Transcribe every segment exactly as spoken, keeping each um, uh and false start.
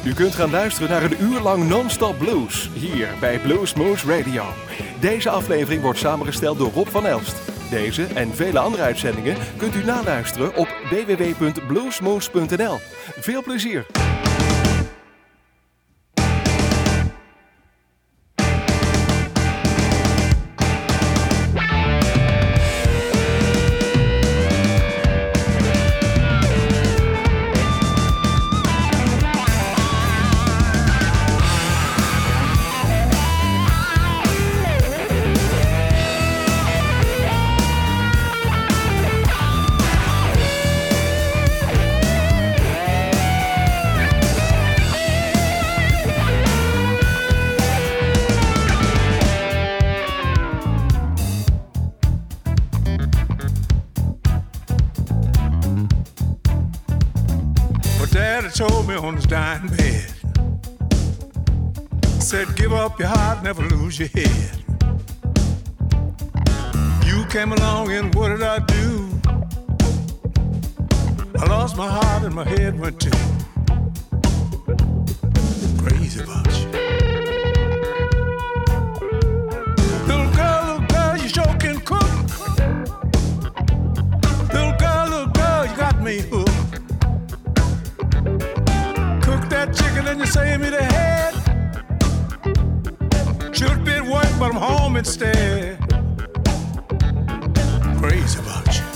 U kunt gaan luisteren naar een uur lang non-stop blues, hier bij Blues Moose Radio. Deze aflevering wordt samengesteld door Rob van Elst. Deze en vele andere uitzendingen kunt u naluisteren op w w w punt bluesmoose punt n l. Veel plezier! Told me on his dying bed, said give up your heart, never lose your head. You came along and what did I do? I lost my heart and my head went too. Crazy about you. Little girl, little girl, you sure can cook. Little girl, little girl, you got me hooked. Chicken and you save me the head. Should be at work, but I'm home instead. Crazy about you,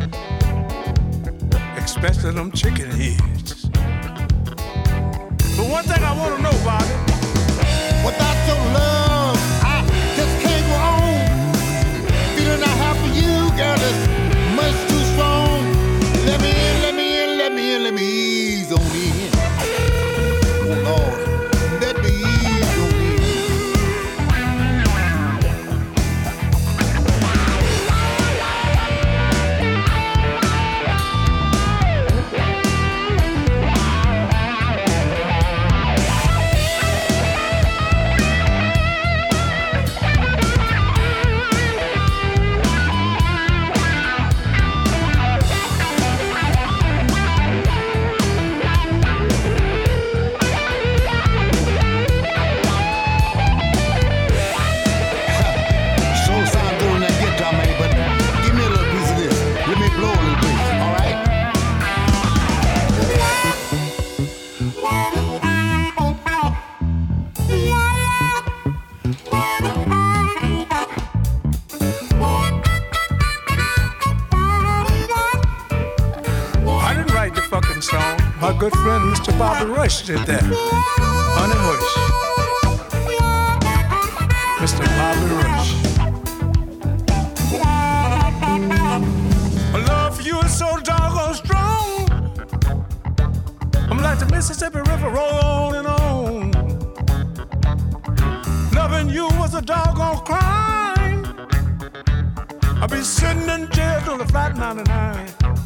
especially them chicken heads. But one thing I want to know about it, without your love, I just can't go on. Feeling I have for you, girl, is much too strong. Let me in, let me in, let me in, let me ease on in. Lord, let me ease on in. My good friend Mister Bobby Rush did that. Honey Hush. Mister Bobby Rush. My love for you is so doggone strong. I'm like the Mississippi River, roll on and on. Loving you was a doggone crime. I'll be sitting in jail till the flat ninety-nine.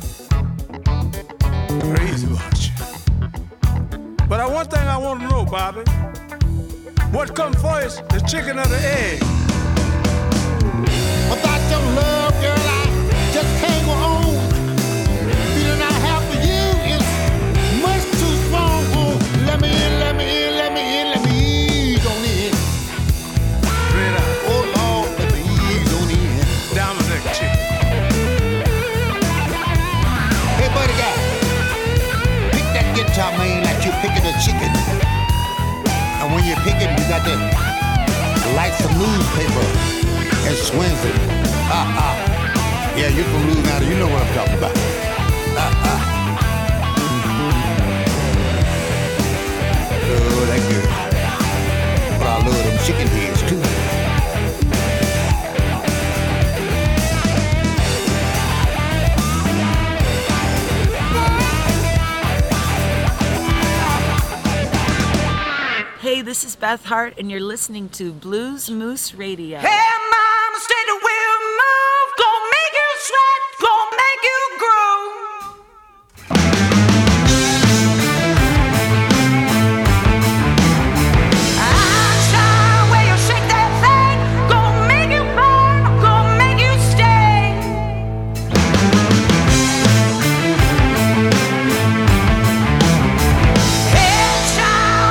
Crazy about you. But I, one thing I want to know, Bobby, what come first, the chicken or the egg? Without your love, girl, I just can't go on. Feeling I have for you is much too strong. Oh, let me in, let me in, let me in, let me ease on in. Straight out. Oh, Lord, let me ease on in. Diamond neck chicken. Hey, buddy guy. Guitar man like you're picking a chicken. And when you're picking, you got to light some newspaper and swings it. Ha ha. Yeah, you're from Louisiana, you know what I'm talking about. Ha ha. Love that girl. But I love them chicken heads too. Hey, this is Beth Hart, and you're listening to Blues Moose Radio. Hey, mama, steady will move, gonna make you sweat, gonna make you groove. Action, where you shake that thing, gonna make you burn, gonna make you stay. Headshot.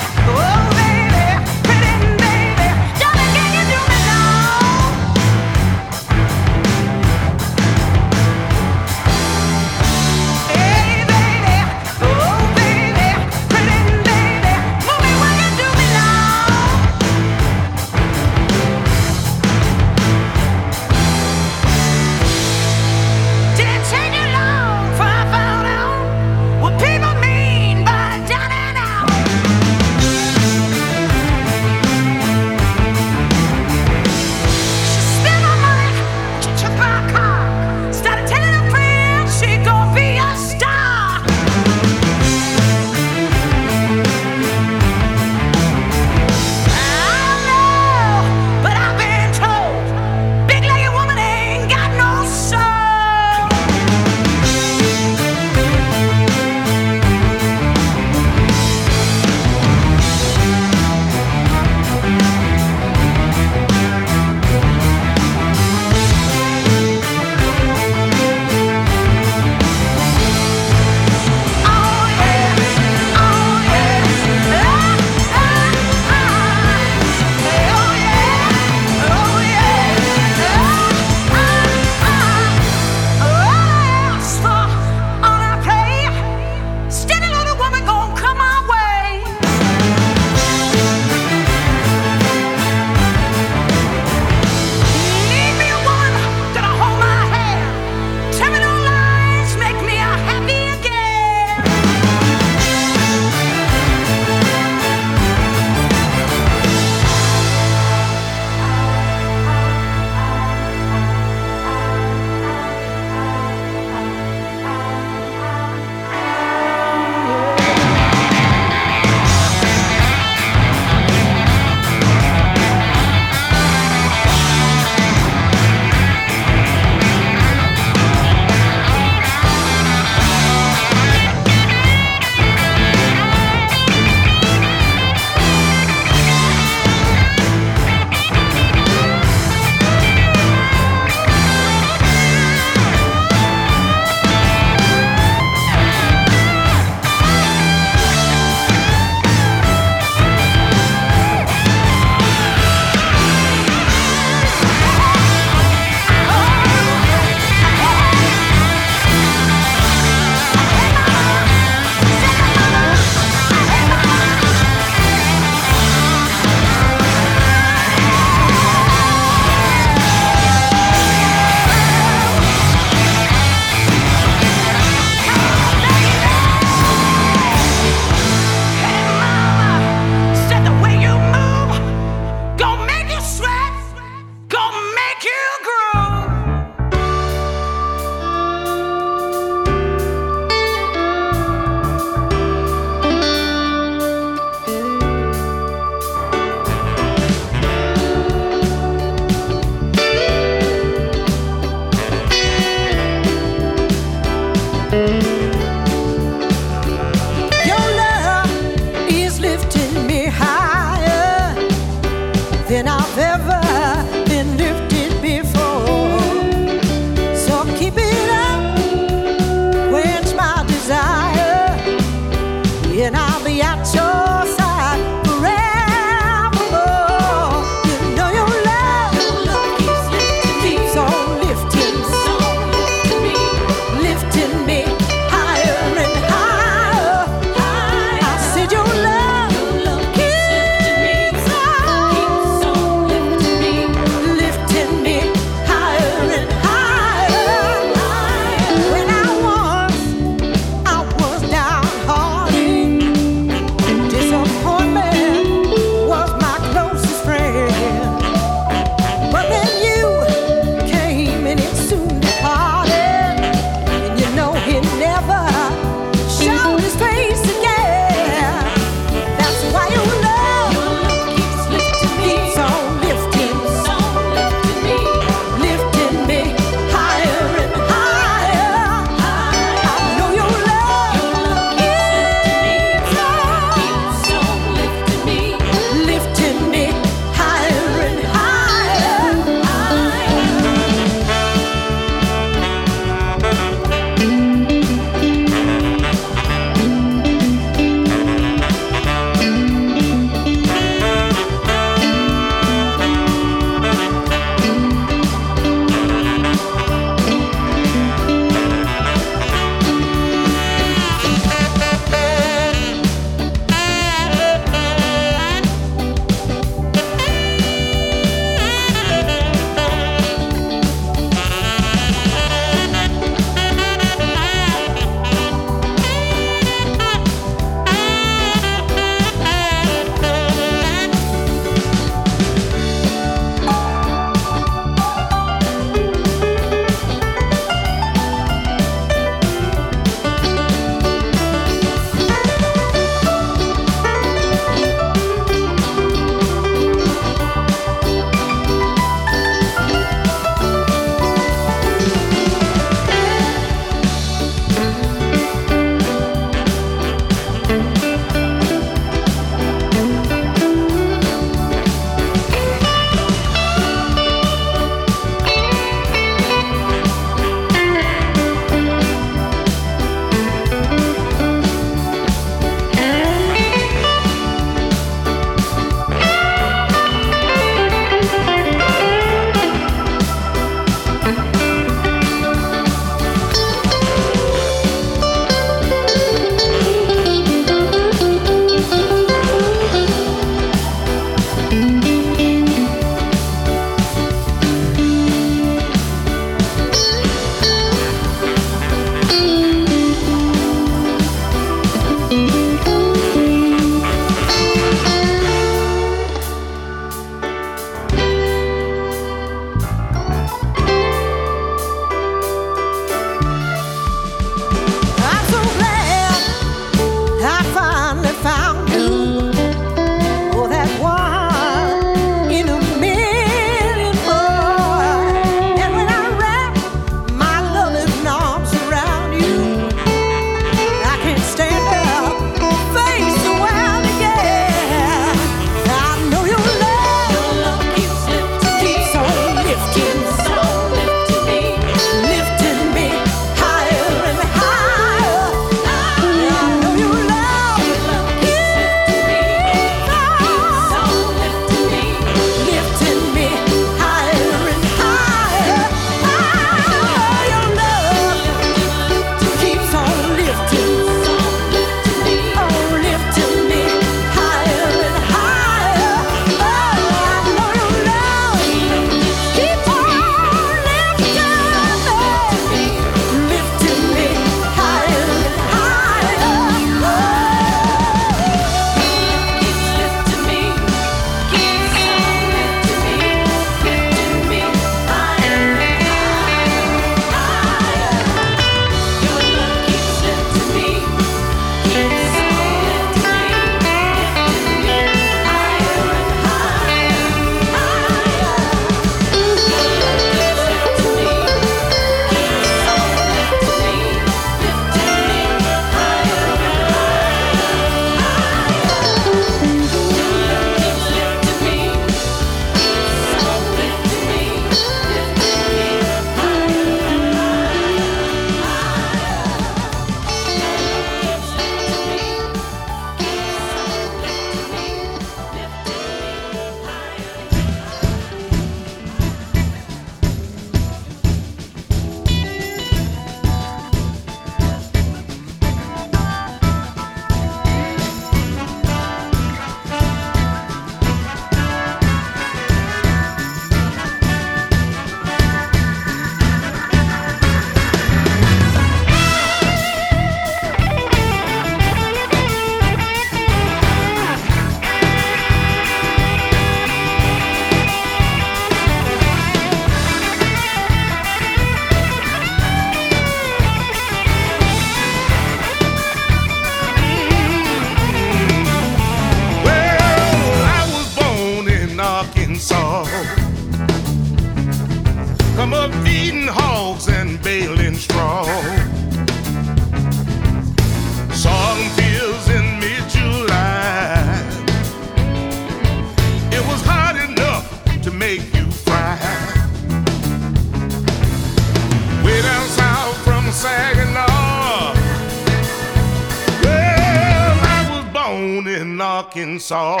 in Arkansas.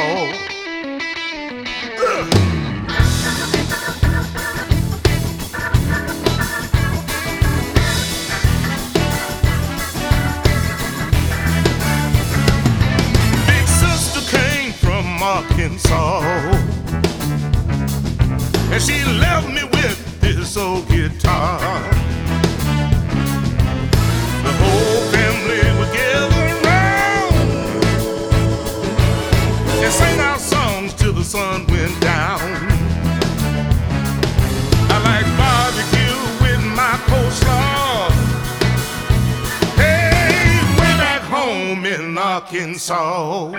Ugh. Arkansas, and she left me with this old guitar. The whole family would gather around and sing our songs till the sun went down. I like barbecue with my coleslaw. Hey, way back home in Arkansas.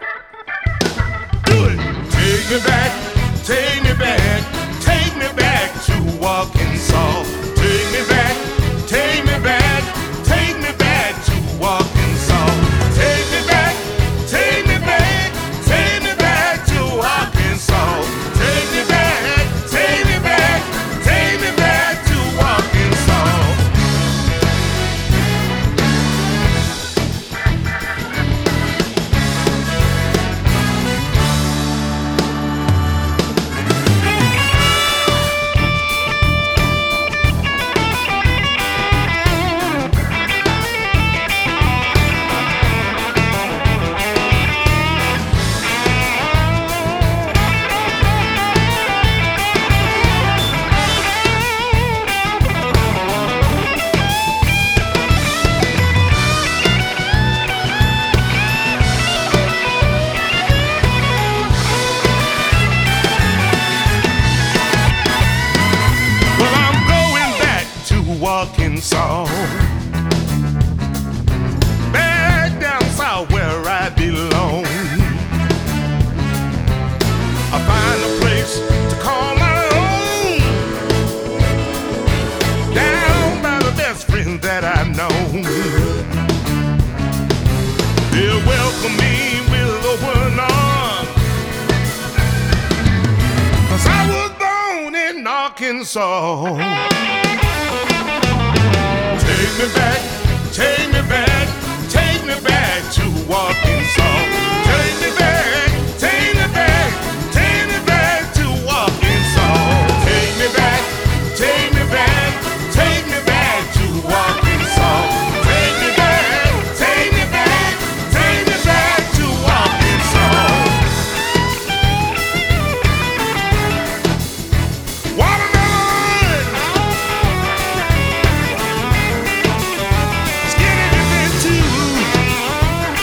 Take me back, take me back, take me back to Arkansas. Take me back, take me back, take me back to Arkansas. Take me back, take me back, take me back to Arkansas. Take me back, take me back, take me back to Arkansas. Arkansas, back down south where I belong. I find a place to call my own, down by the best friend that I've known. They'll welcome me with open arms, 'cause I was born in Arkansas. Take me back, take me back, take me back to Arkansas. Take me back, take me back, take me back to Arkansas. Take me back, take me back, take me back to Arkansas. Take me back, take me back, take me back to Arkansas. Watermelon! Skinny dipping too.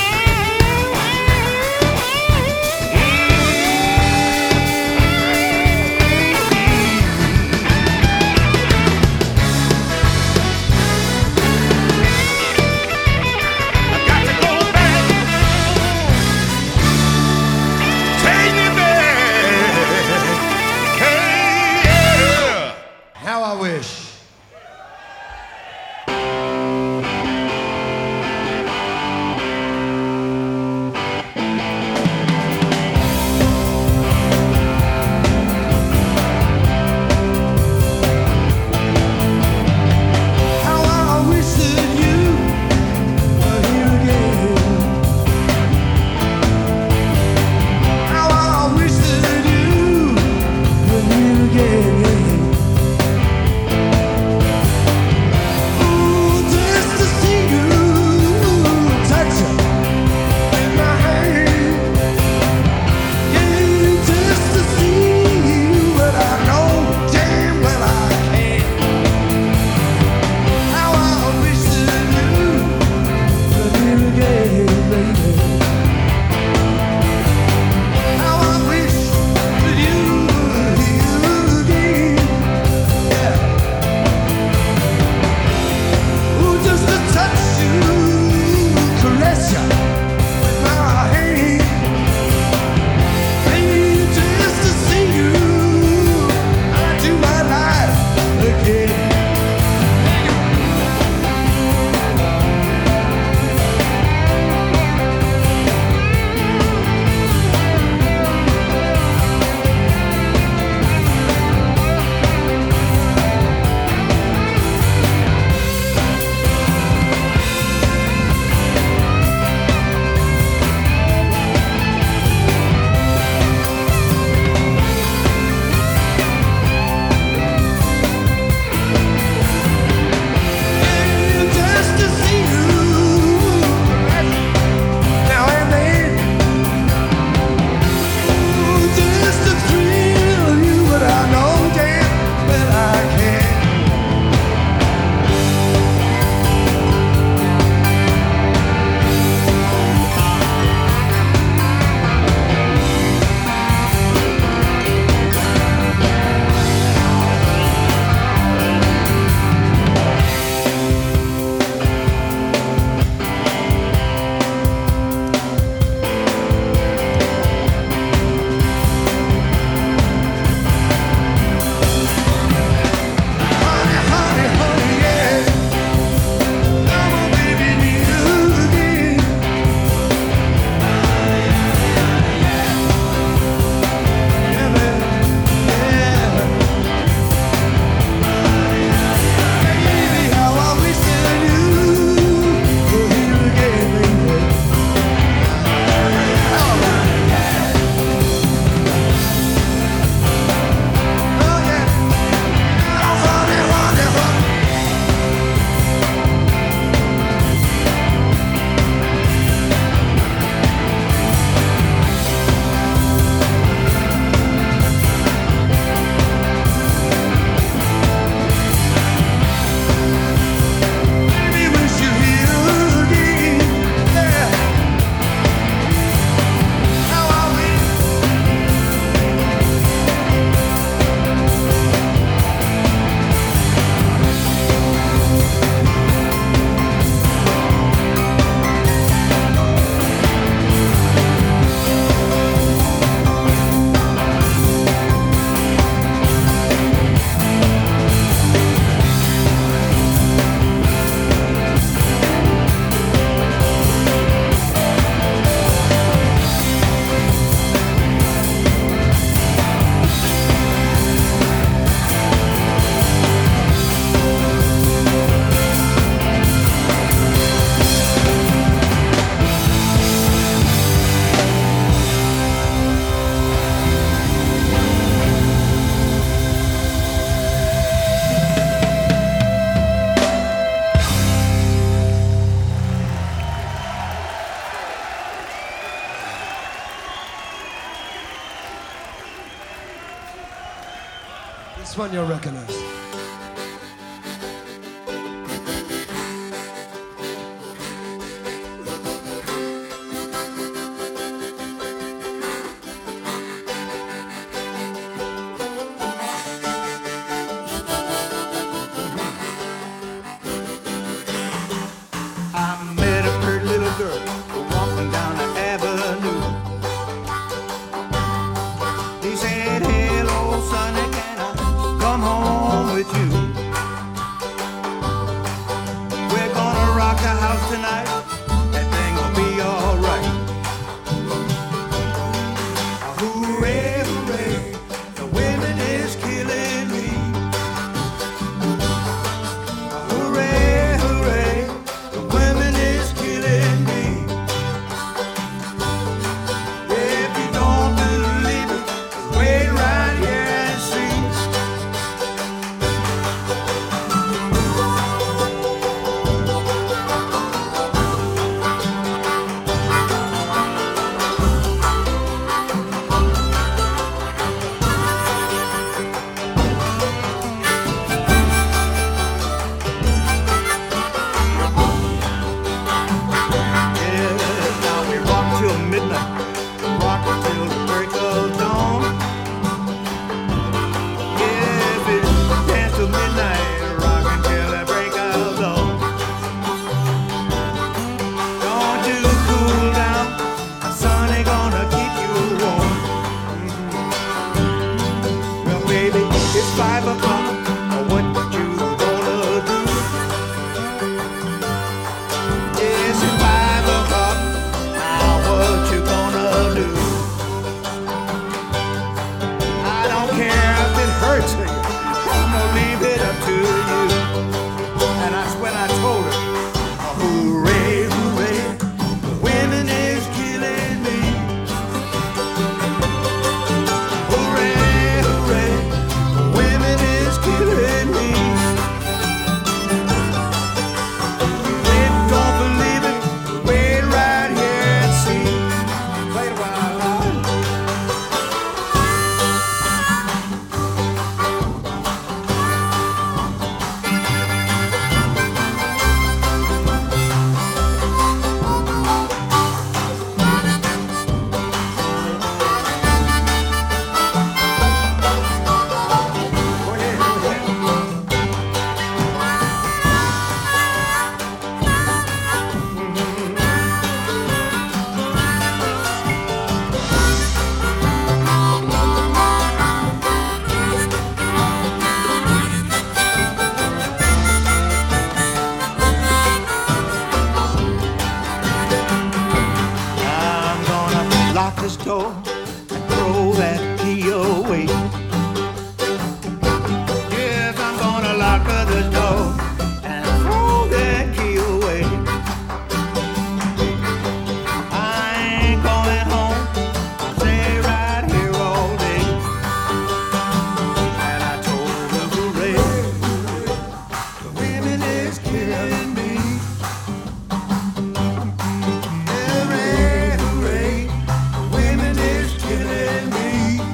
This one you'll recognize.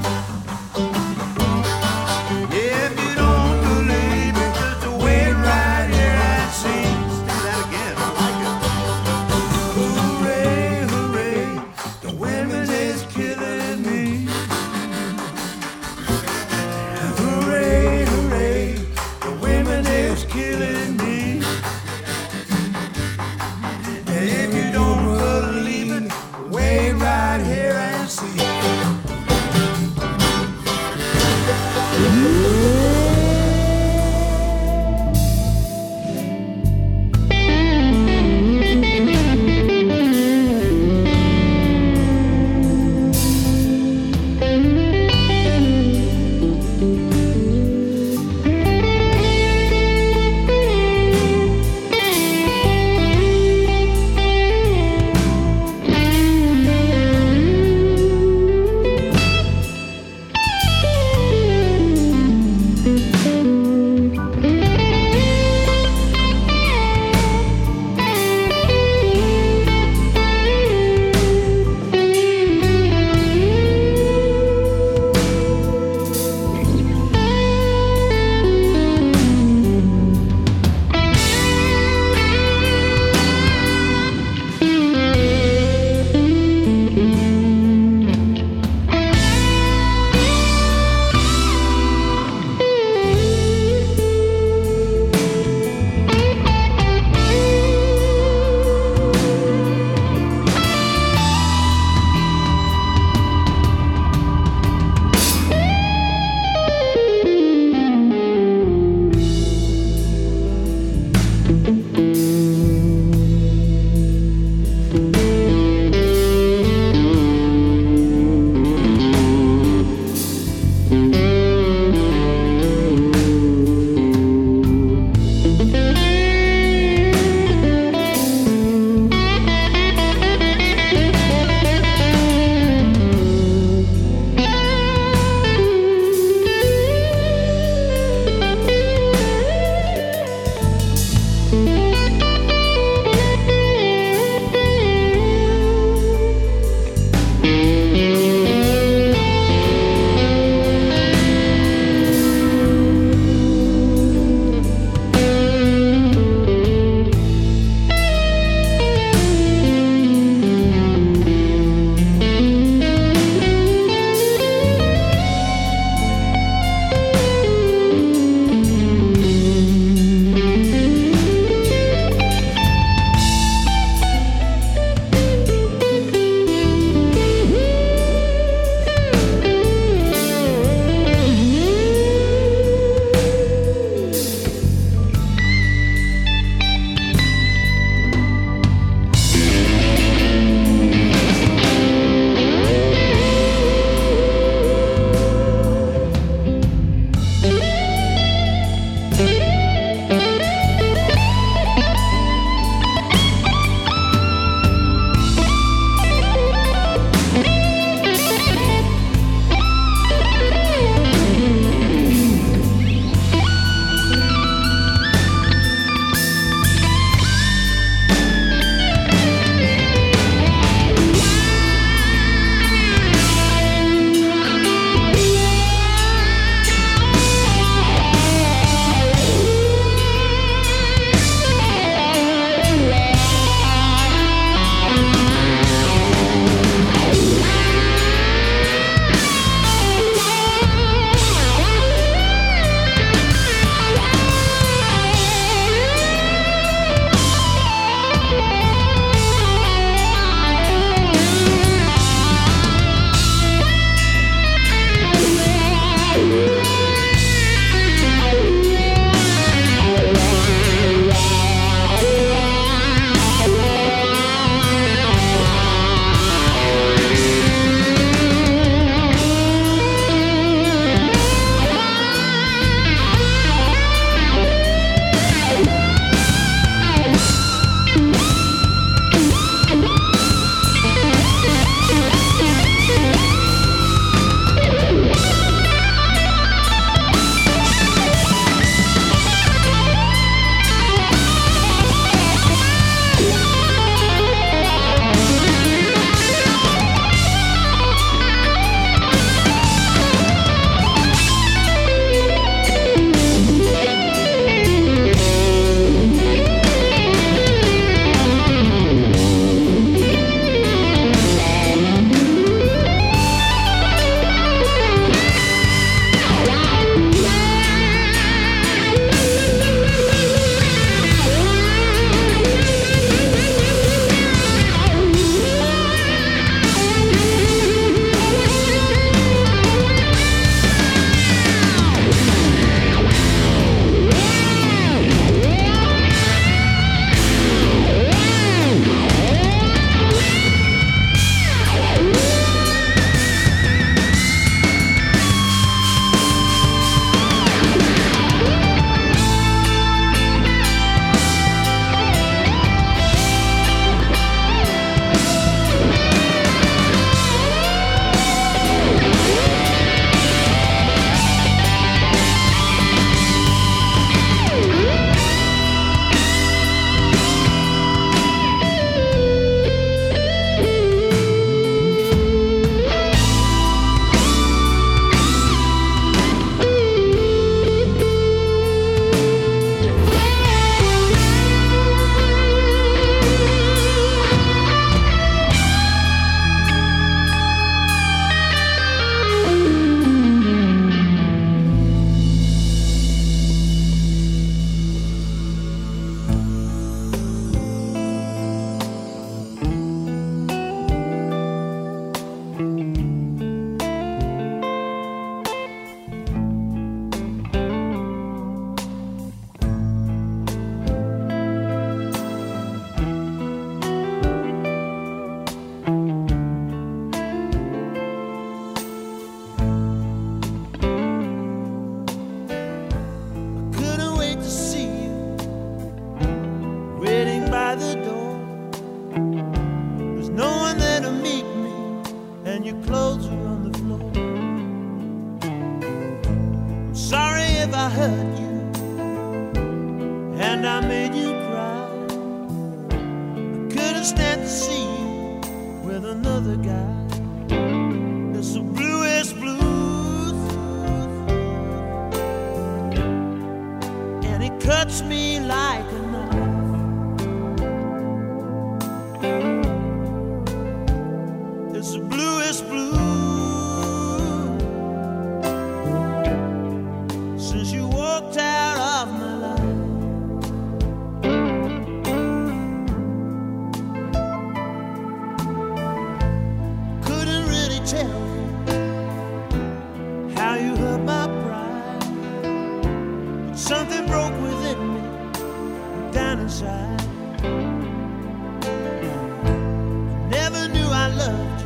Right. and your clothes are on the floor. I'm sorry if I hurt you and I made you cry. I couldn't stand to see you with another guy. It's the bluest blues, and it cuts me like a knife. It's the bluest blues since you walked out of my life. Couldn't really tell how you hurt my pride, but something broke within me, down inside. Never knew I loved you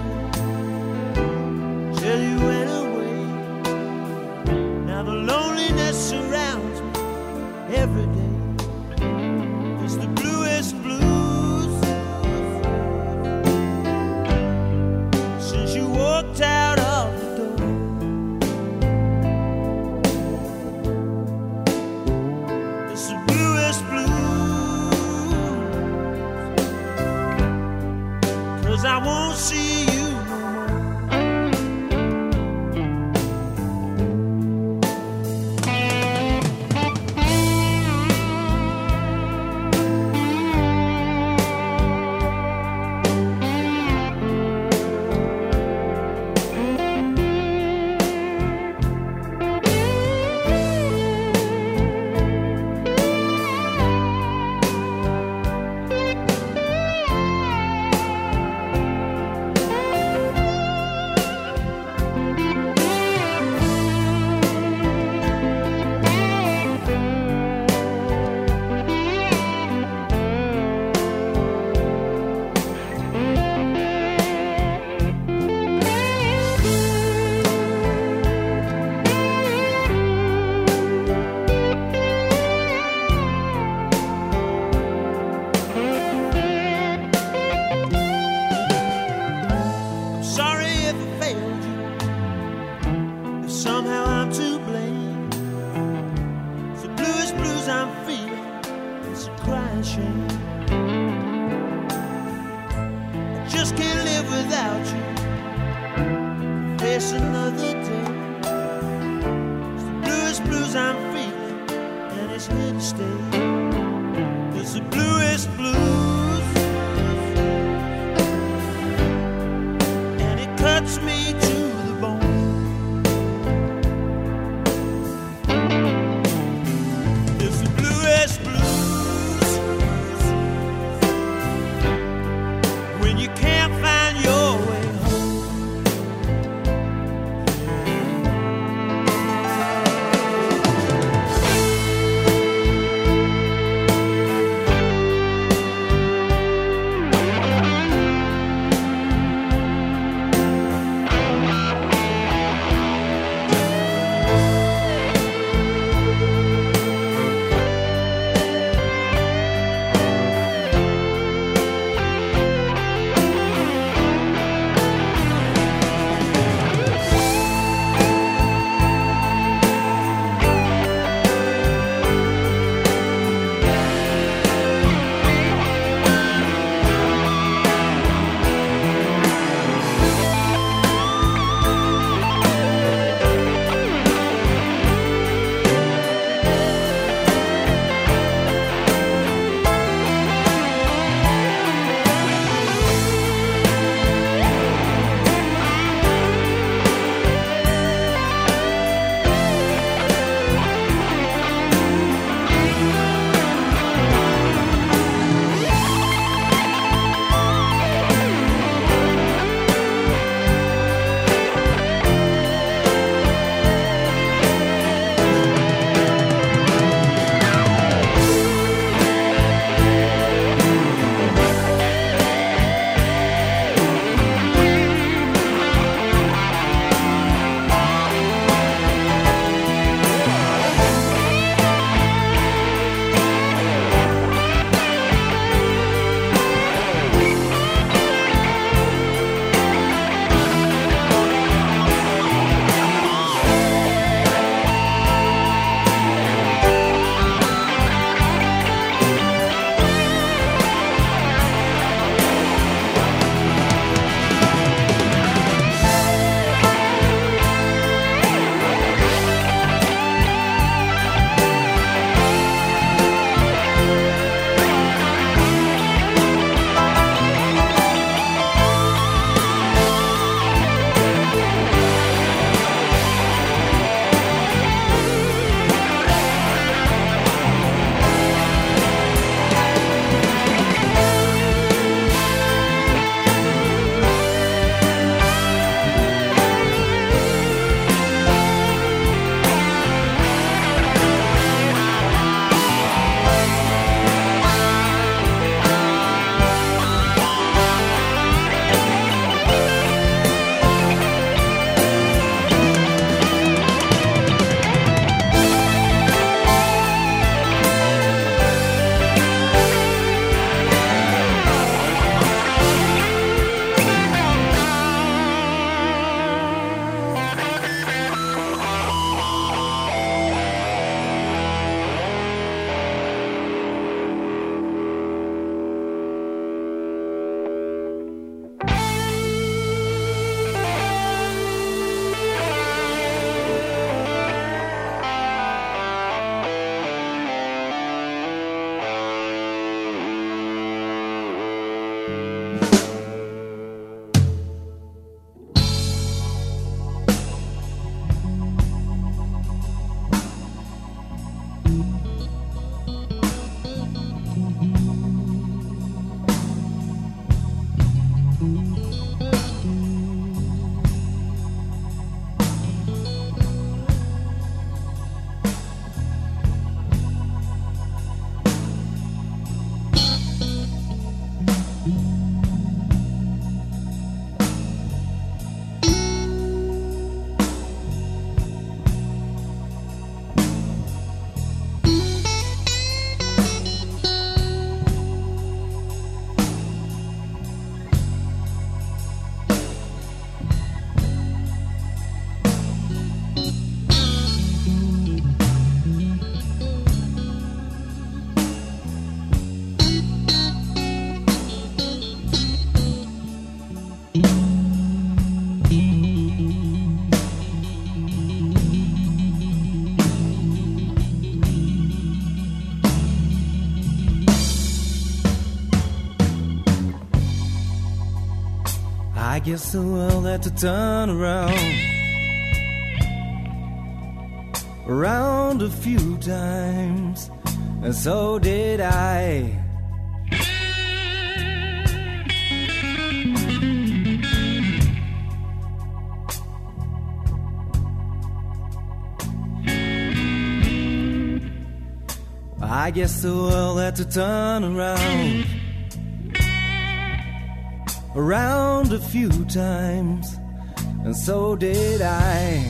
till you went away. Now the loneliness surrounds me every day. It's the bluest blues since you walked out of the door. It's the bluest blues 'cause I won't see you no more. I'm sorry if I failed you, if somehow I'm to blame. It's the bluest blues I'm feeling, it's a crying shame. I just can't live without you, face another day. It's the bluest blues I'm feeling, and it's here to stay. It's the bluest blues, and it cuts me to the bone. It's the bluest blues when you can't find your way home. I guess the world had to turn around, around a few times, and so did I. I guess the world had to turn around, around a few times, and so did I.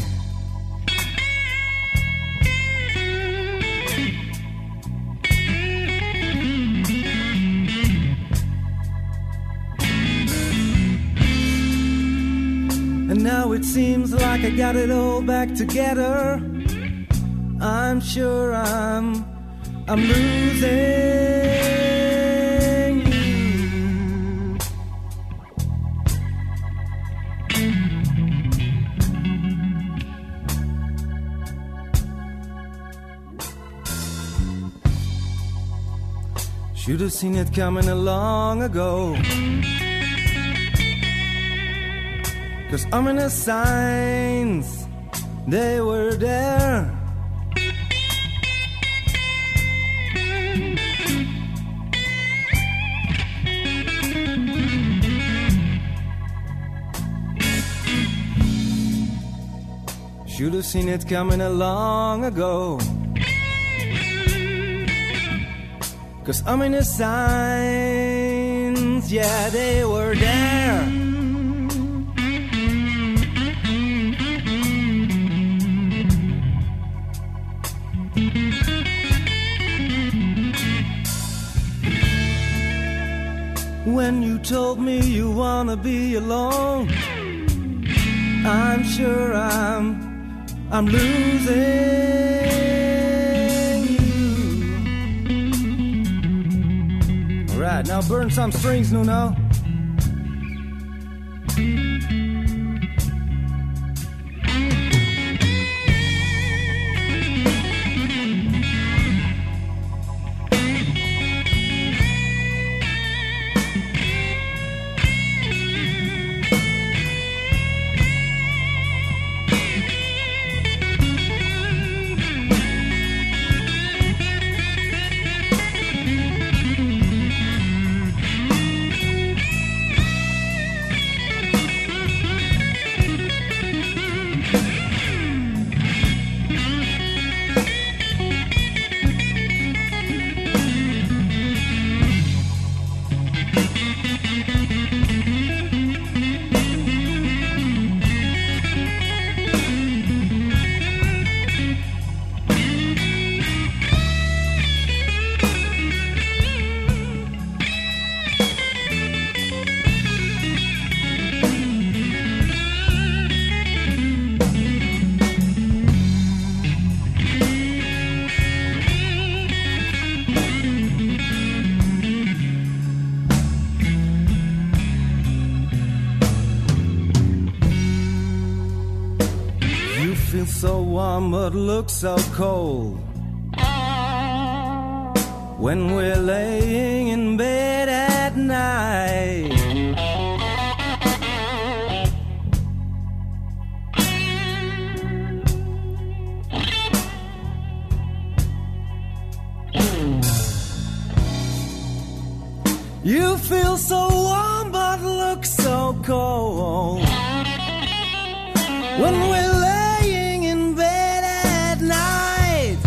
And now it seems like I got it all back together. I'm sure I'm, I'm losing. Should have seen it coming long ago, 'cause ominous signs, they were there. Should have seen it coming long ago, 'cause ominous signs, yeah, they were there. When you told me you wanna be alone, I'm sure I'm, I'm losing. Right, now burn some strings, Nuno. So warm but look so cold when we're laying in bed at night. You feel so warm but look so cold when we're laying in bed at night.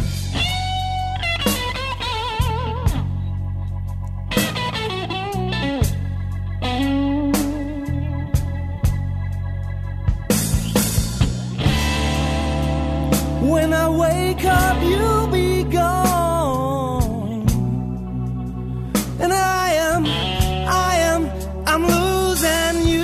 When I wake up, you'll be gone, and I am, I am, I'm losing you.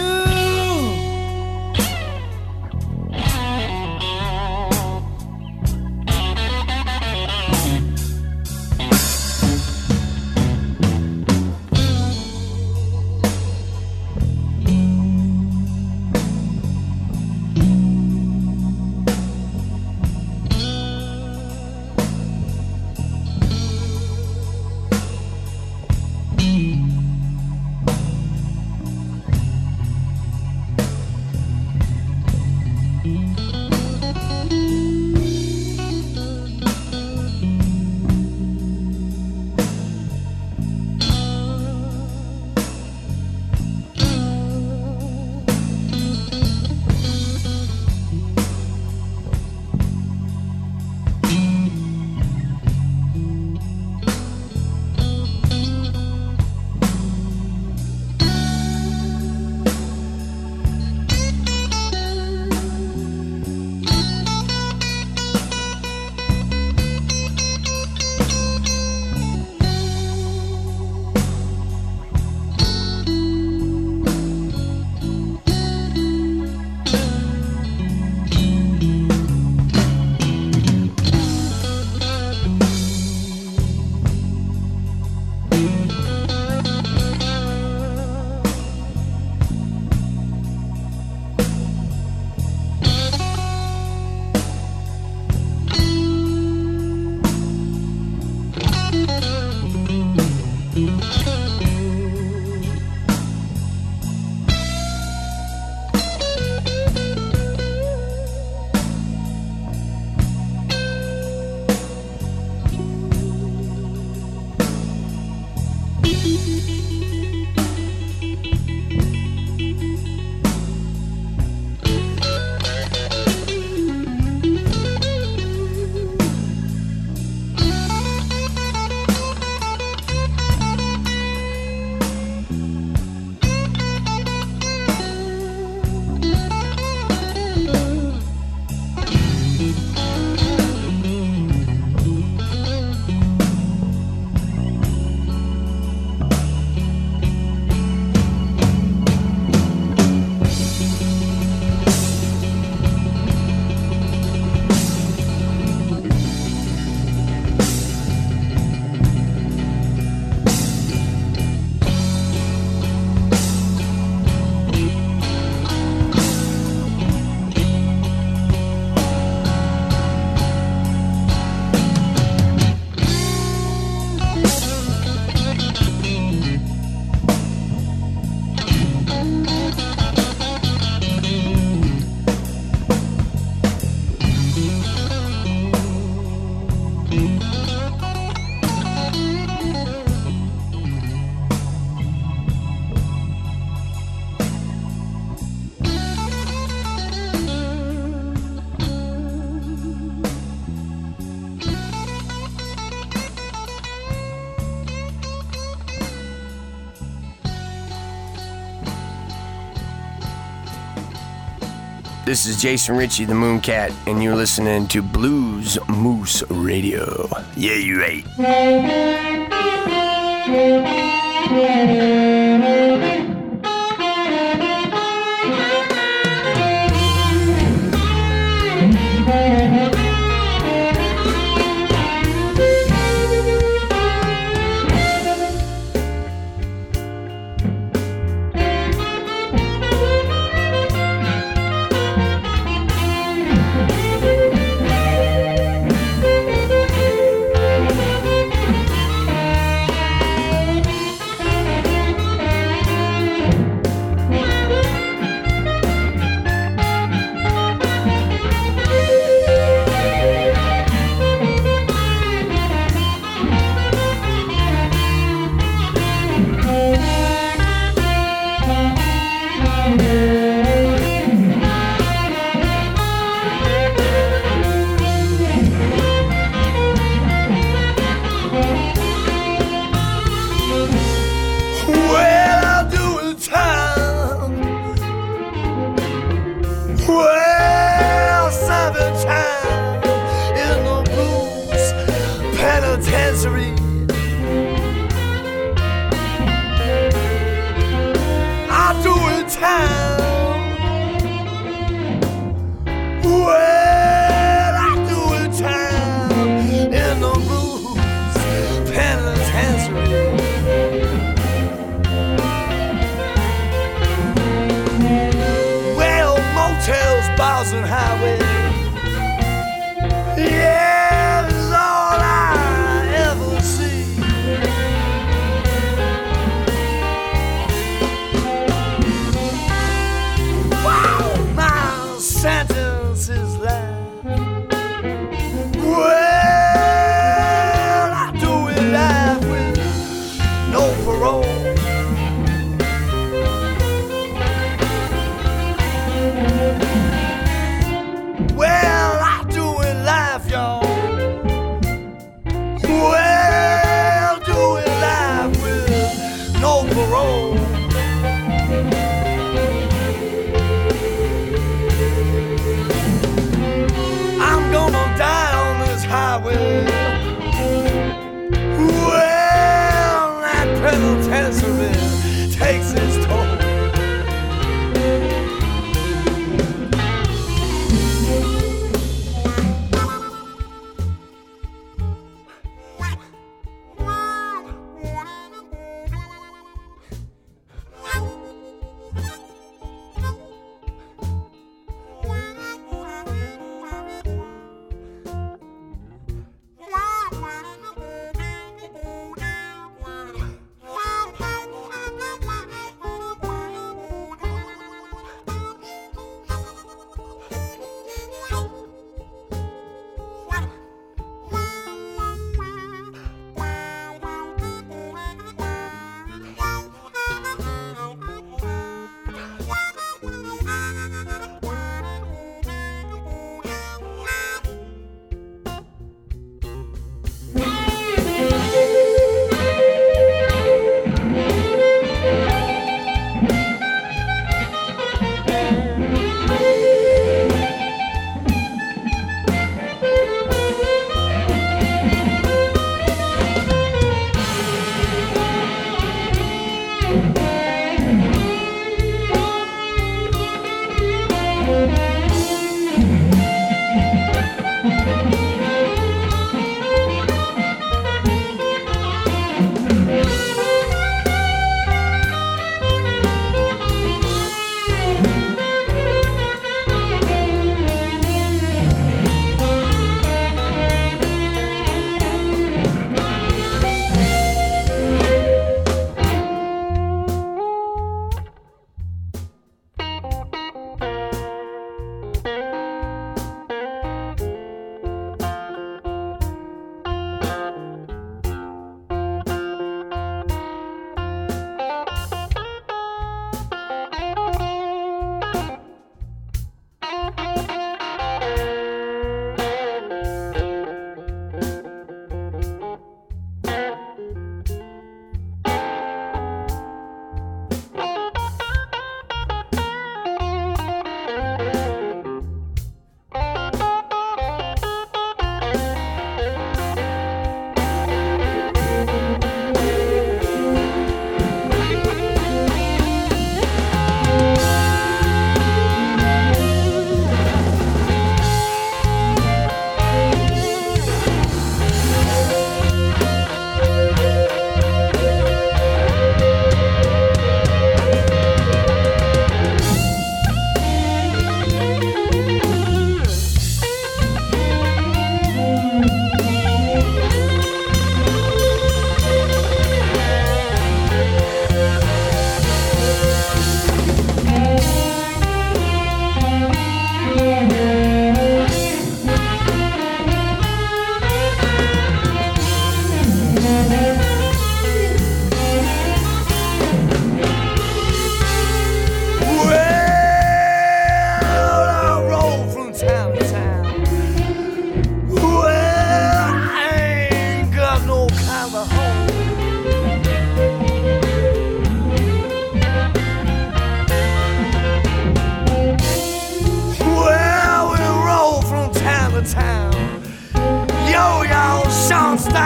This is Jason Ritchie, the Mooncat, and you're listening to Blues Moose Radio. Yeah, you right.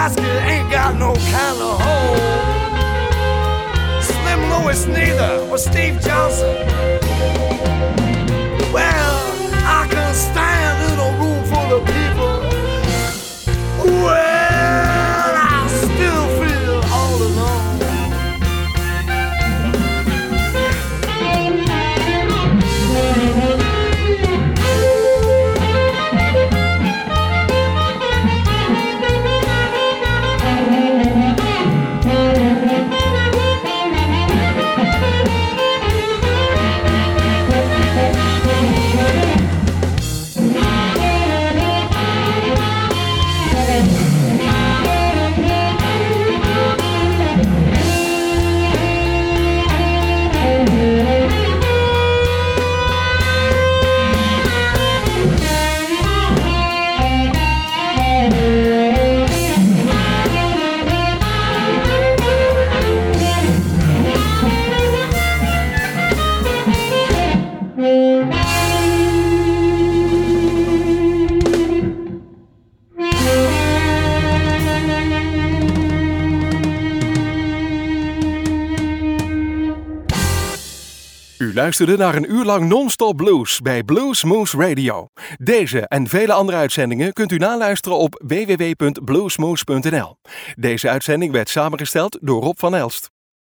basket ain't got no kind of hole. Slim Lewis neither, or Steve Johnson. Well, I can stand in a room full of people. Well, I still feel all alone. U luisterde naar een uur lang non-stop blues bij Blues Moose Radio. Deze en vele andere uitzendingen kunt u naluisteren op w w w punt bluesmoose punt n l. Deze uitzending werd samengesteld door Rob van Elst.